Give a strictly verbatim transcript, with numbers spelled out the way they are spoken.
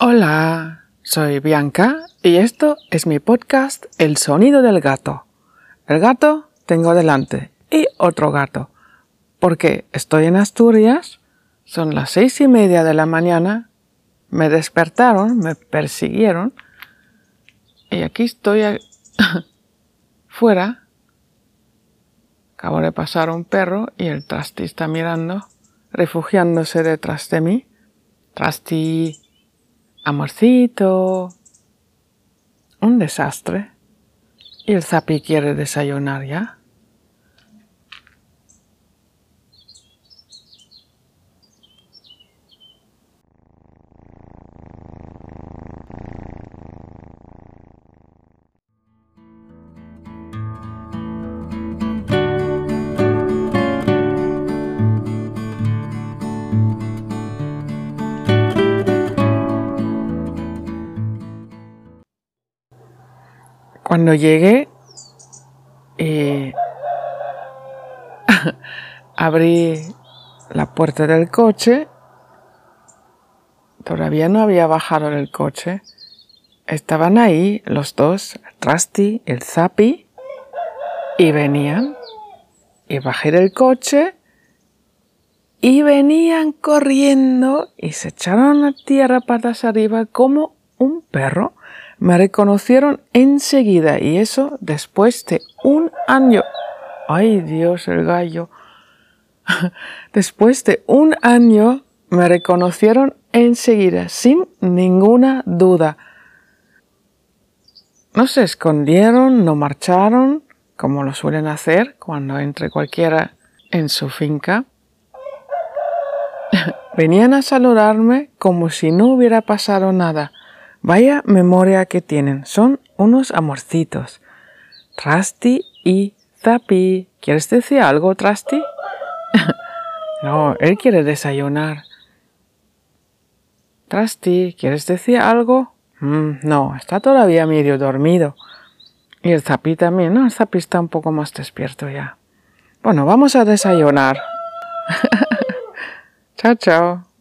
Hola, soy Bianca y esto es mi podcast El sonido del gato. El gato tengo delante y otro gato, porque estoy en Asturias, son las seis y media de la mañana, me despertaron, me persiguieron y aquí estoy a... fuera. Acabo de pasar un perro y el Trasti está mirando, refugiándose detrás de mí. Trasti, amorcito, un desastre. Y el Zapi quiere desayunar ya. Cuando llegué, eh, abrí la puerta del coche. Todavía no había bajado del coche. Estaban ahí los dos, el Trasti, el Zapi, y venían. Y bajé del coche y venían corriendo y se echaron a tierra patas arriba como un perro. Me reconocieron enseguida y eso después de un año. ¡Ay, Dios, el gallo! Después de un año me reconocieron enseguida, sin ninguna duda. No se escondieron, no marcharon, como lo suelen hacer cuando entre cualquiera en su finca. Venían a saludarme como si no hubiera pasado nada. Vaya memoria que tienen, son unos amorcitos. Trasti y Zapi. ¿Quieres decir algo, Trasti? No, él quiere desayunar. Trasti, ¿quieres decir algo? Mm, no, está todavía medio dormido. Y el Zapi también, ¿no? El Zapi está un poco más despierto ya. Bueno, vamos a desayunar. Chao, chao.